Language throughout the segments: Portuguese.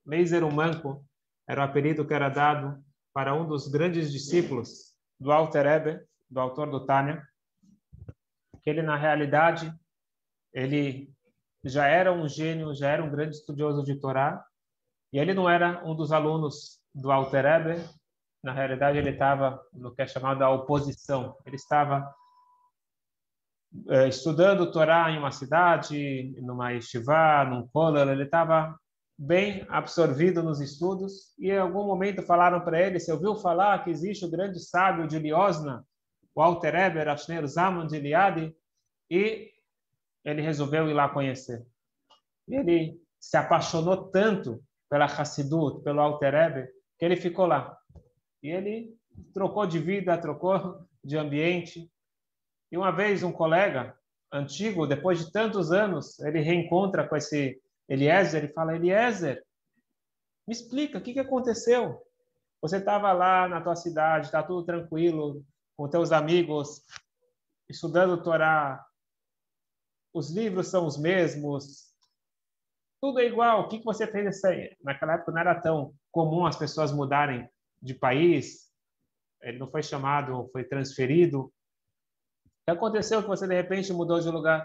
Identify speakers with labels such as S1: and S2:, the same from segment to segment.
S1: Leiser o Manco era o apelido que era dado para um dos grandes discípulos do Alter Rebbe, do autor do Tânia, que ele, na realidade, ele já era um gênio, já era um grande estudioso de Torá, e ele não era um dos alunos do Alter Rebbe. Na realidade, ele estava no que é chamado a oposição. Ele estava estudando Torá em uma cidade, numa yeshiva, num kollel. Ele estava bem absorvido nos estudos, e em algum momento falaram para ele: você ouviu falar que existe o grande sábio de Liosna, o Alter Rebbe, Rashner Zalman de Liadi? E ele resolveu ir lá conhecer. E ele se apaixonou tanto pela Hassidut, pelo Alter Rebbe, que ele ficou lá. E ele trocou de vida, trocou de ambiente. E uma vez um colega antigo, depois de tantos anos, ele reencontra com esse Eliezer e fala: Eliezer, me explica, o que aconteceu? Você estava lá na tua cidade, está tudo tranquilo, com teus amigos, estudando Torá, os livros são os mesmos, tudo é igual. O que você fez nessa... Naquela época não era tão comum as pessoas mudarem de país, ele não foi chamado, foi transferido. O que aconteceu que você de repente mudou de lugar?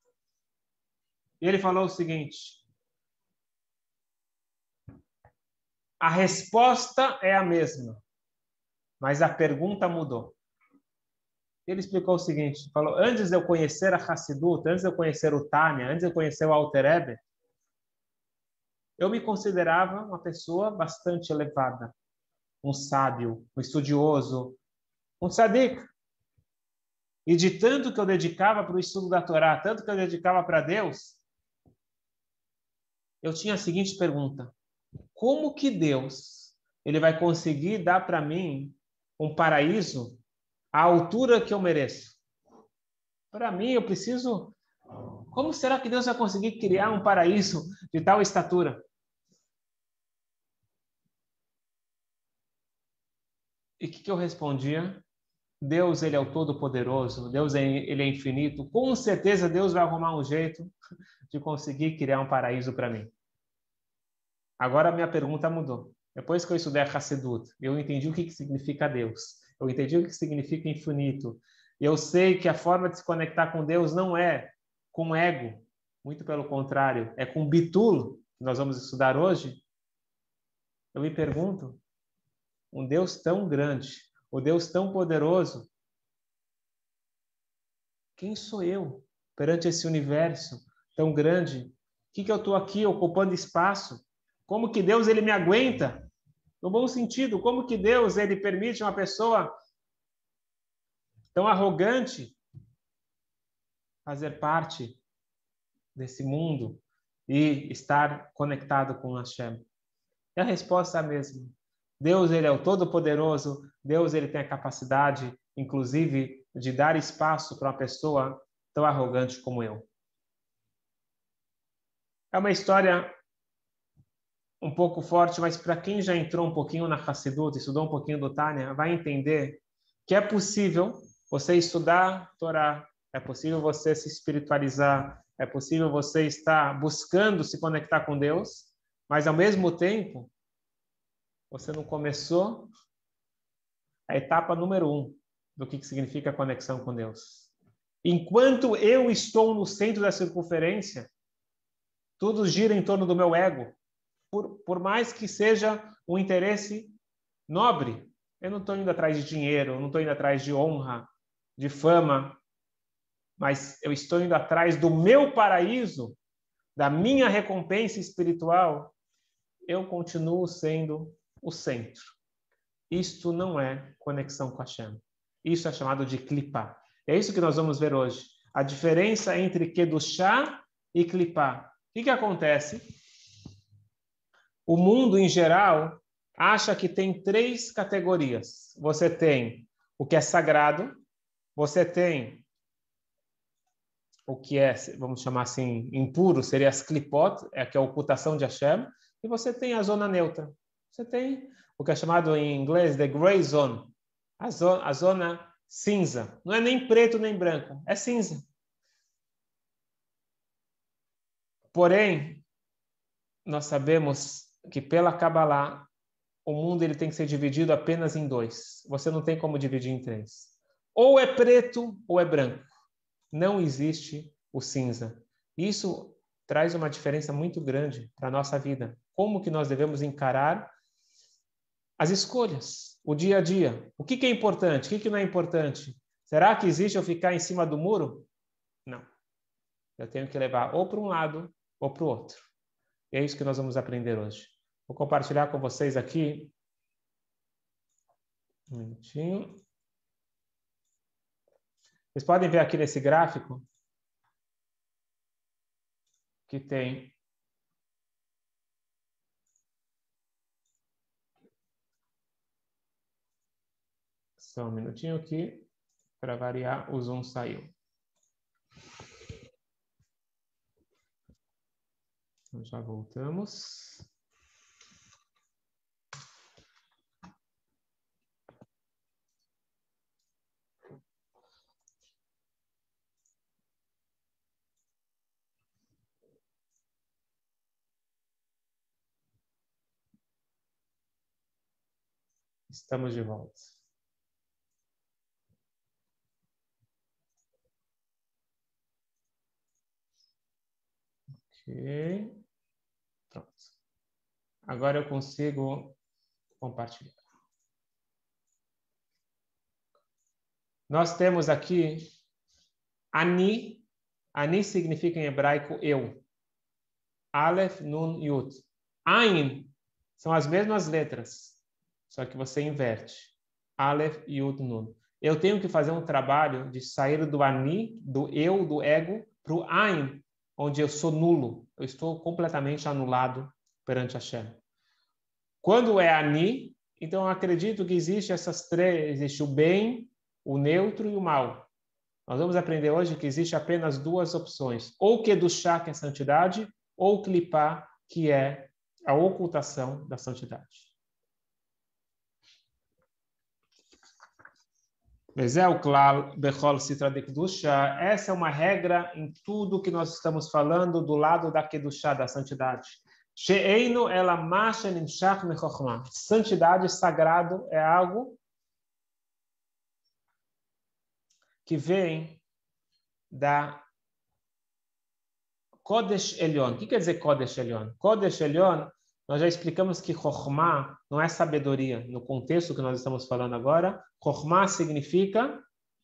S1: E ele falou o seguinte: a resposta é a mesma, mas a pergunta mudou. Ele explicou o seguinte, falou: antes de eu conhecer a Hassidut, antes de eu conhecer o Tânia, antes de eu conhecer o Alter Rebbe, eu me considerava uma pessoa bastante elevada, um sábio, um estudioso, um tzadik. E de tanto que eu dedicava para o estudo da Torá, tanto que eu dedicava para Deus, eu tinha a seguinte pergunta: como que Deus ele vai conseguir dar para mim um paraíso à altura que eu mereço? Para mim, eu preciso... Como será que Deus vai conseguir criar um paraíso de tal estatura? E o que eu respondia? Deus, ele é o Todo-Poderoso, Deus, ele é infinito. Com certeza, Deus vai arrumar um jeito de conseguir criar um paraíso para mim. Agora, a minha pergunta mudou. Depois que eu estudei a Hassidut, eu entendi o que significa Deus. Eu entendi o que significa infinito. Eu sei que a forma de se conectar com Deus não é com ego, muito pelo contrário, é com bitul, que nós vamos estudar hoje. Eu me pergunto, um Deus tão grande, um Deus tão poderoso, quem sou eu perante esse universo tão grande? O que eu estou aqui ocupando espaço? Como que Deus ele me aguenta? No bom sentido, como que Deus ele permite uma pessoa tão arrogante fazer parte desse mundo e estar conectado com Hashem? E a resposta é a mesma. Deus ele é o Todo-Poderoso, Deus ele tem a capacidade, inclusive, de dar espaço para uma pessoa tão arrogante como eu. É uma história um pouco forte, mas para quem já entrou um pouquinho na Hassidut, estudou um pouquinho do Tânia, vai entender que é possível você estudar Torá, é possível você se espiritualizar, é possível você estar buscando se conectar com Deus, mas ao mesmo tempo, você não começou a etapa número 1 do que significa a conexão com Deus. Enquanto eu estou no centro da circunferência, tudo gira em torno do meu ego. Por mais que seja um interesse nobre, eu não estou indo atrás de dinheiro, eu não estou indo atrás de honra, de fama, mas eu estou indo atrás do meu paraíso, da minha recompensa espiritual. Eu continuo sendo o centro. Isto não é conexão com Hashem. Isso é chamado de clipá. É isso que nós vamos ver hoje. A diferença entre kedushá e clipá. O que acontece? O mundo, em geral, acha que tem 3 categorias. Você tem o que é sagrado, você tem o que é, vamos chamar assim, impuro, seria as klipot, que é a ocultação de Hashem, e você tem a zona neutra. Você tem o que é chamado em inglês de gray zone, a zona cinza. Não é nem preto nem branco, é cinza. Porém, nós sabemos que pela Kabbalah, o mundo ele tem que ser dividido apenas em dois. Você não tem como dividir em três. Ou é preto ou é branco. Não existe o cinza. Isso traz uma diferença muito grande para a nossa vida. Como que nós devemos encarar as escolhas, o dia a dia. O que é importante, o que não é importante? Será que existe eu ficar em cima do muro? Não. Eu tenho que levar ou para um lado ou para o outro. E é isso que nós vamos aprender hoje. Vou compartilhar com vocês aqui. Um minutinho. Vocês podem ver aqui nesse gráfico que tem só um minutinho aqui, para variar, o zoom saiu. Então, já voltamos. Estamos de volta. Ok. Pronto. Agora eu consigo compartilhar. Nós temos aqui Ani. Ani significa em hebraico eu. Aleph, Nun, Yud. Ain são as mesmas letras, só que você inverte. Aleph, Yud, Nun. Eu tenho que fazer um trabalho de sair do Ani, do eu, do ego, para o Ain, onde eu sou nulo. Eu estou completamente anulado perante Hashem. Quando é Ani, então eu acredito que existe essas três, existe o bem, o neutro e o mal. Nós vamos aprender hoje que existe apenas duas opções, ou Kedushá, que é santidade, ou Klipá, que é a ocultação da santidade. Essa é uma regra em tudo que nós estamos falando do lado da Kedushá, da santidade. Santidade, sagrado, é algo que vem da Kodesh Elyon. O que quer dizer Kodesh Elyon? Kodesh Elyon, nós já explicamos que Chokhmah não é sabedoria. No contexto que nós estamos falando agora, Chokhmah significa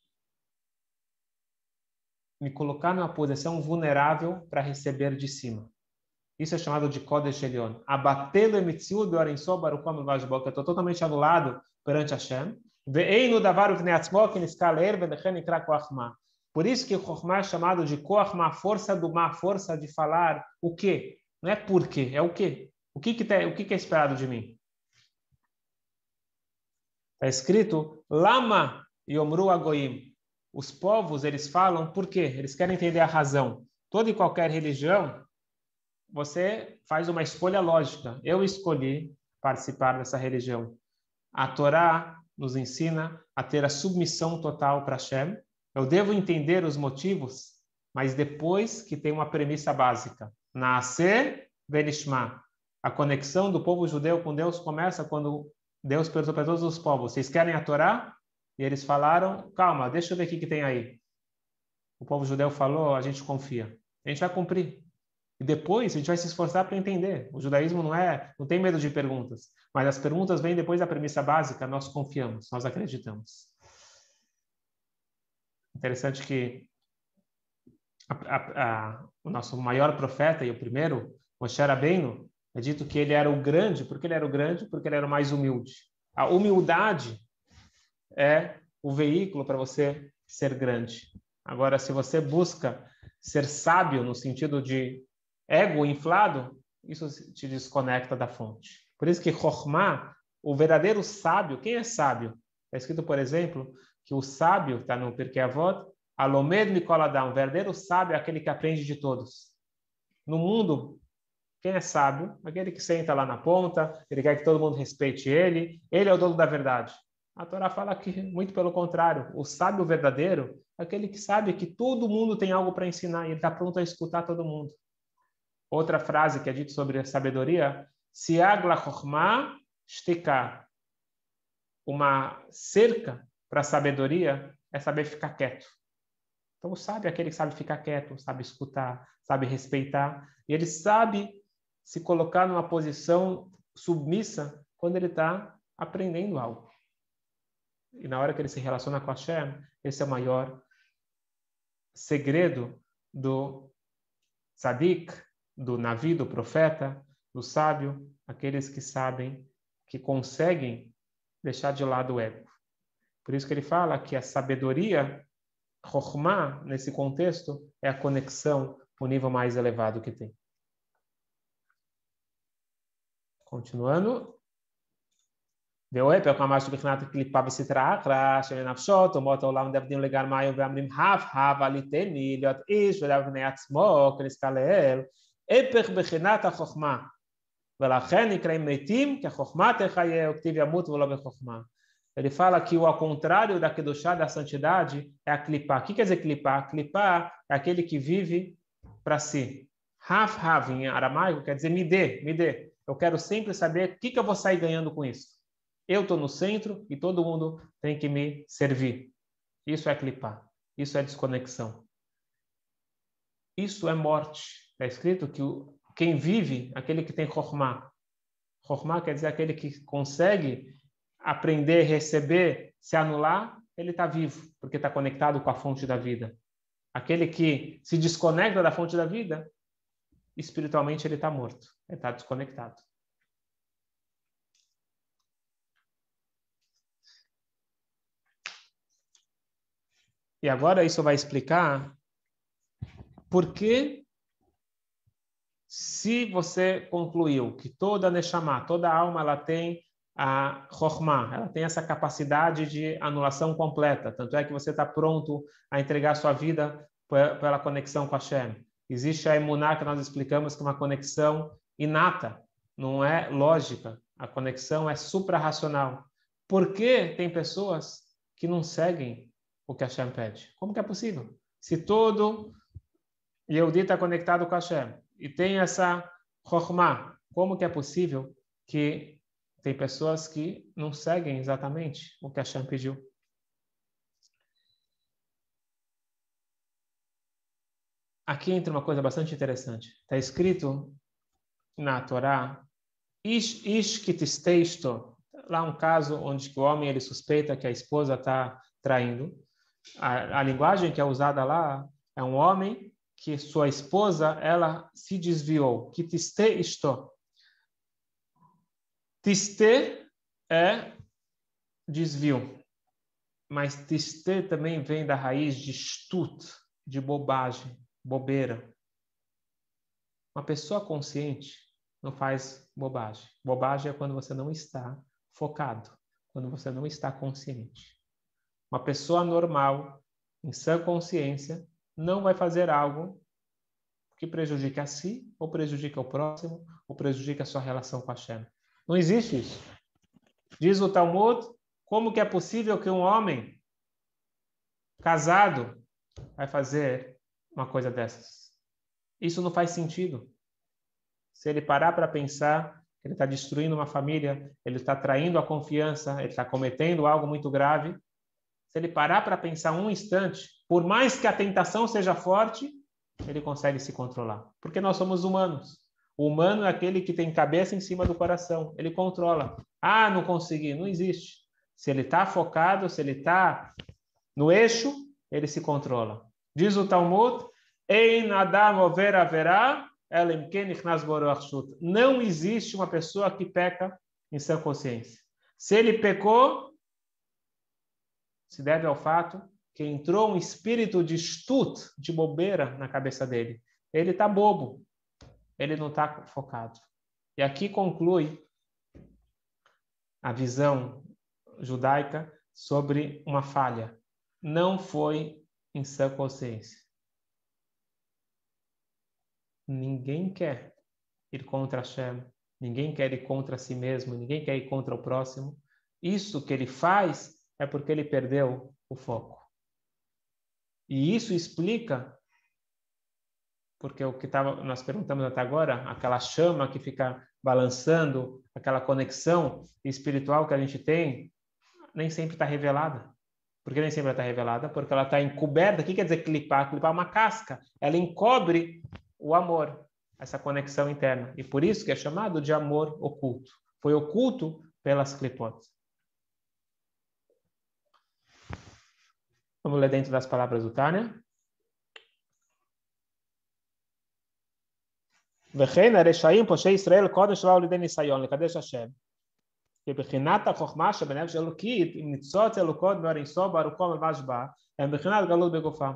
S1: me colocar numa posição vulnerável para receber de cima. Isso é chamado de Kodesh Elyon. Abatelo emitziu do Arenso Barucham Vajbok. Eu estou totalmente anulado perante Hashem. Ve'einu davar uvneatzmo que niskaler ve'lechen ikra koachma. Por isso que o Chokhmah é chamado de koachma, força do mar, força de falar o quê? Não é por quê, é o quê? O que é esperado de mim? Está escrito, Lama yomru agoim. Os povos, eles falam por quê? Eles querem entender a razão. Toda e qualquer religião, você faz uma escolha lógica. Eu escolhi participar dessa religião. A Torá nos ensina a ter a submissão total para Hashem. Eu devo entender os motivos, mas depois que tem uma premissa básica. Nascer venishma. A conexão do povo judeu com Deus começa quando Deus perguntou para todos os povos, vocês querem a Torá? E eles falaram, calma, deixa eu ver o que tem aí. O povo judeu falou, a gente confia. A gente vai cumprir. E depois a gente vai se esforçar para entender. O judaísmo não tem medo de perguntas. Mas as perguntas vêm depois da premissa básica, nós confiamos, nós acreditamos. Interessante que o nosso maior profeta e o primeiro, Moshe Rabbeinu, é dito que ele era o grande. Por que ele era o grande? Porque ele era o mais humilde. A humildade é o veículo para você ser grande. Agora, se você busca ser sábio no sentido de ego inflado, isso te desconecta da fonte. Por isso que Chokhmah, o verdadeiro sábio, quem é sábio? Está escrito, por exemplo, que o sábio, está no Pirkei Avot, Alomed Mikol Adam, o verdadeiro sábio é aquele que aprende de todos. No mundo, quem é sábio? Aquele que senta lá na ponta, ele quer que todo mundo respeite ele é o dono da verdade. A Torá fala que, muito pelo contrário, o sábio verdadeiro é aquele que sabe que todo mundo tem algo para ensinar e ele está pronto a escutar todo mundo. Outra frase que é dita sobre a sabedoria Siag la chokhmah shtika. Uma cerca para a sabedoria é saber ficar quieto. Então, o sábio é aquele que sabe ficar quieto, sabe escutar, sabe respeitar. E ele sabe se colocar numa posição submissa quando ele está aprendendo algo. E na hora que ele se relaciona com Hashem, esse é o maior segredo do tzadik, do navi, do profeta, do sábio, aqueles que sabem, que conseguem deixar de lado o ego. Por isso que ele fala que a sabedoria, chokhmah, nesse contexto, é a conexão com o nível mais elevado que tem. Continuando. ואוהב פרק ממש בבחינת קליפה בסתרא אחרא שלנפשות אומות העולם דבדים לגרמיים ואמרים הב עליתני להיות איש ולבני עצמו כנזכר לאל הפך בחינת החוכמה ולכן נקראים מתים כחוכמה תחיה וכתיב ימות ולא בחוכמה. Ele fala que o ao contrário da kedushá, da santidade, é a clipá. O que quer dizer clipá? Clipá é aquele que vive para si. Hav, em aramaico, quer dizer me dê. Eu quero sempre saber o que eu vou sair ganhando com isso. Eu estou no centro e todo mundo tem que me servir. Isso é clipar. Isso é desconexão. Isso é morte. Está escrito que quem vive, aquele que tem chokhmah. Chokhmah quer dizer aquele que consegue aprender, receber, se anular, ele está vivo, porque está conectado com a fonte da vida. Aquele que se desconecta da fonte da vida, espiritualmente ele está morto. Ele está desconectado. E agora isso vai explicar por que, se você concluiu que toda Neshama, toda alma, ela tem a Chokhmah, ela tem essa capacidade de anulação completa, tanto é que você está pronto a entregar sua vida pela conexão com Hashem. Existe a Emuná, que nós explicamos, que é uma conexão inata, não é lógica, a conexão é suprarracional. Por que tem pessoas que não seguem o que Hashem pede? Como que é possível? Se todo Yehudi está conectado com Hashem e tem essa Chokhmah, como que é possível que tem pessoas que não seguem exatamente o que Hashem pediu? Aqui entra uma coisa bastante interessante. Está escrito na Torá, Ish kitisteisto, lá um caso onde o homem ele suspeita que a esposa está traindo. A linguagem que é usada lá é um homem que sua esposa ela se desviou. Que tiste isto. Tiste é desvio, mas tiste também vem da raiz de stut, de bobagem, bobeira. Uma pessoa consciente não faz bobagem. Bobagem é quando você não está focado, quando você não está consciente. Uma pessoa normal, em sã consciência, não vai fazer algo que prejudique a si, ou prejudique o próximo, ou prejudique a sua relação com Hashem. Não existe isso. Diz o Talmud, como que é possível que um homem casado vai fazer uma coisa dessas? Isso não faz sentido. Se ele parar para pensar, ele está destruindo uma família, ele está traindo a confiança, ele está cometendo algo muito grave. Se ele parar para pensar um instante, por mais que a tentação seja forte, ele consegue se controlar. Porque nós somos humanos. O humano é aquele que tem cabeça em cima do coração. Ele controla. Ah, não consegui. Não existe. Se ele está focado, se ele está no eixo, ele se controla. Diz o Talmud, Ein Adam over haverá, elim ken ichnas bo ruach shut. Não existe uma pessoa que peca em sã consciência. Se ele pecou, se deve ao fato que entrou um espírito de stut, de bobeira na cabeça dele. Ele está bobo. Ele não está focado. E aqui conclui a visão judaica sobre uma falha. Não foi em sã consciência. Ninguém quer ir contra Hashem. Ninguém quer ir contra si mesmo. Ninguém quer ir contra o próximo. Isso que ele faz é porque ele perdeu o foco. E isso explica porque o que nós perguntamos até agora, aquela chama que fica balançando, aquela conexão espiritual que a gente tem, nem sempre está revelada. Por que nem sempre está revelada? Porque ela está encoberta. O que quer dizer clipar? Clipar é uma casca. Ela encobre o amor, essa conexão interna. E por isso que é chamado de amor oculto. Foi oculto pelas clipot. Vamos ler dentro das palavras do Tânia. וכן הרשעים פושעי ישראל קודם שבאו לידי ניסיון לקדש השם. כבחינת החוכמה שבנפש אלוקית, עם ניצוץ אלוקות באור אינסוף ברוחו ממש בה, הם בחינת גלות בגופם.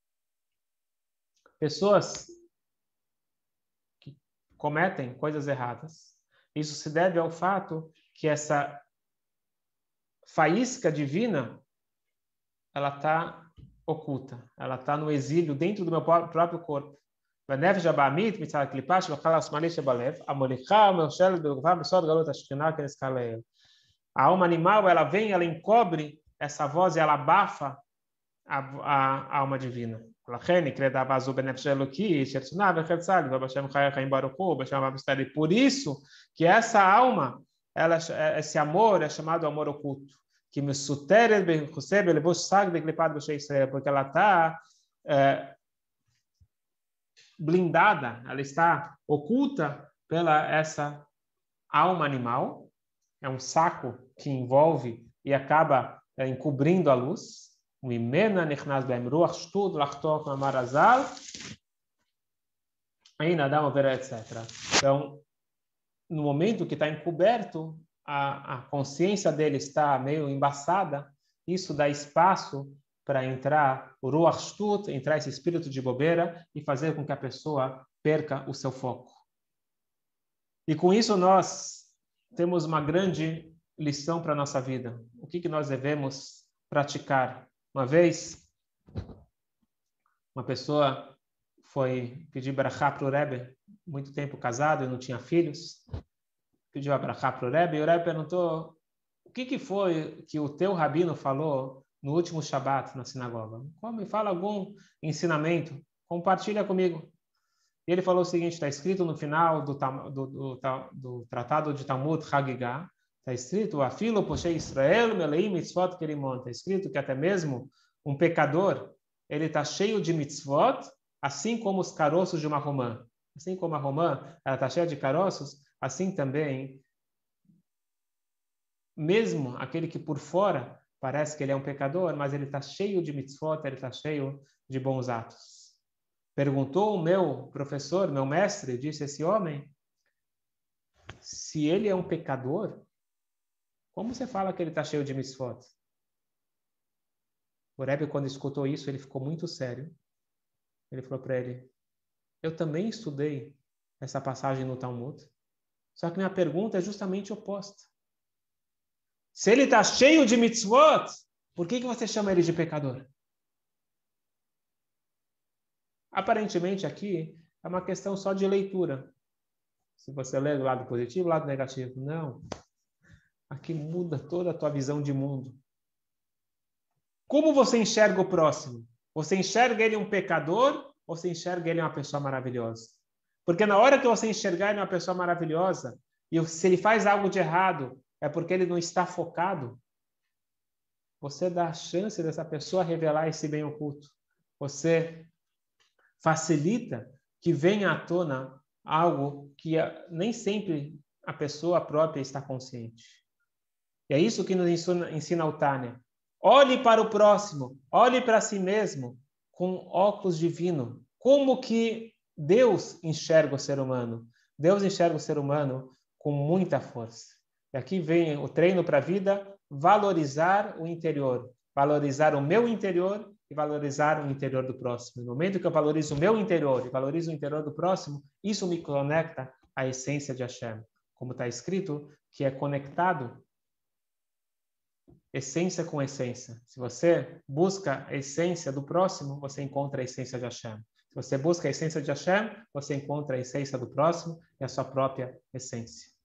S1: Pessoas que cometem coisas erradas, isso se deve ao fato que essa faísca divina, ela está oculta, ela está no exílio dentro do meu próprio corpo. והנפש הבעמית מצד הקליפה שבחלל השמאלי שבלב, המוליכה ומאושרת בגופה בסוד גלות השכינה כנזכר לאל. A alma animal, ela vem, ela encobre essa voz e ela abafa a alma divina. לכן נקראת אהבה זו בנפש האלוקי, שרצונה וחפצה לבוא בשם חיי החיים ברוך הוא, בשם אבא מסתרי. Por isso que essa alma, esse amor é chamado amor oculto, que מסותרת בחוסה בלבוש שק בקליפת בושי ישראל, porque ela está blindada, ela está oculta pela essa alma animal, é um saco que envolve e acaba encobrindo a luz. וממנה נכנס בהם רוח שטות לחתוך מאמר הז"ל, אין אדם עובר, etc. Então, no momento que está encoberto, a consciência dele está meio embaçada, isso dá espaço para entrar o ruach shtut, entrar esse espírito de bobeira e fazer com que a pessoa perca o seu foco. E com isso nós temos uma grande lição para a nossa vida. O que nós devemos praticar? Uma vez, uma pessoa foi pedir brachá para o Rebbe, muito tempo casado e não tinha filhos, pediu a brachá para o Rebbe, e o Rebbe perguntou: o que foi que o teu rabino falou no último Shabat na sinagoga? Me fala algum ensinamento, compartilha comigo. E ele falou o seguinte: está escrito no final do tratado de Talmud Hagigah, está escrito: Afilo poshei Israel meleim mitzvot kerimon. Está escrito que até mesmo um pecador, ele está cheio de mitzvot, assim como os caroços de uma romã. Assim como a romã, ela está cheia de caroços, assim também, mesmo aquele que por fora parece que ele é um pecador, mas ele está cheio de mitzvot, ele está cheio de bons atos. Perguntou o meu professor, meu mestre, disse esse homem: se ele é um pecador, como você fala que ele está cheio de mitzvot? O Rebbe, quando escutou isso, ele ficou muito sério. Ele falou para ele: eu também estudei essa passagem no Talmud, só que minha pergunta é justamente oposta. Se ele está cheio de mitzvot, por que você chama ele de pecador? Aparentemente aqui é uma questão só de leitura. Se você lê do lado positivo, do lado negativo. Não. Aqui muda toda a tua visão de mundo. Como você enxerga o próximo? Você enxerga ele um pecador ou você enxerga ele uma pessoa maravilhosa? Porque na hora que você enxergar ele uma pessoa maravilhosa, e se ele faz algo de errado, é porque ele não está focado, você dá a chance dessa pessoa revelar esse bem oculto. Você facilita que venha à tona algo que nem sempre a pessoa própria está consciente. E é isso que nos ensina o Tânia. Olhe para o próximo, olhe para si mesmo com óculos divinos. Como que Deus enxerga o ser humano? Deus enxerga o ser humano com muita força. E aqui vem o treino para a vida: valorizar o interior, valorizar o meu interior e valorizar o interior do próximo. No momento que eu valorizo o meu interior e valorizo o interior do próximo, isso me conecta à essência de Hashem. Como está escrito, que é conectado essência com essência. Se você busca a essência do próximo, você encontra a essência de Hashem. Se você busca a essência de Hashem, você encontra a essência do próximo e a sua própria essência.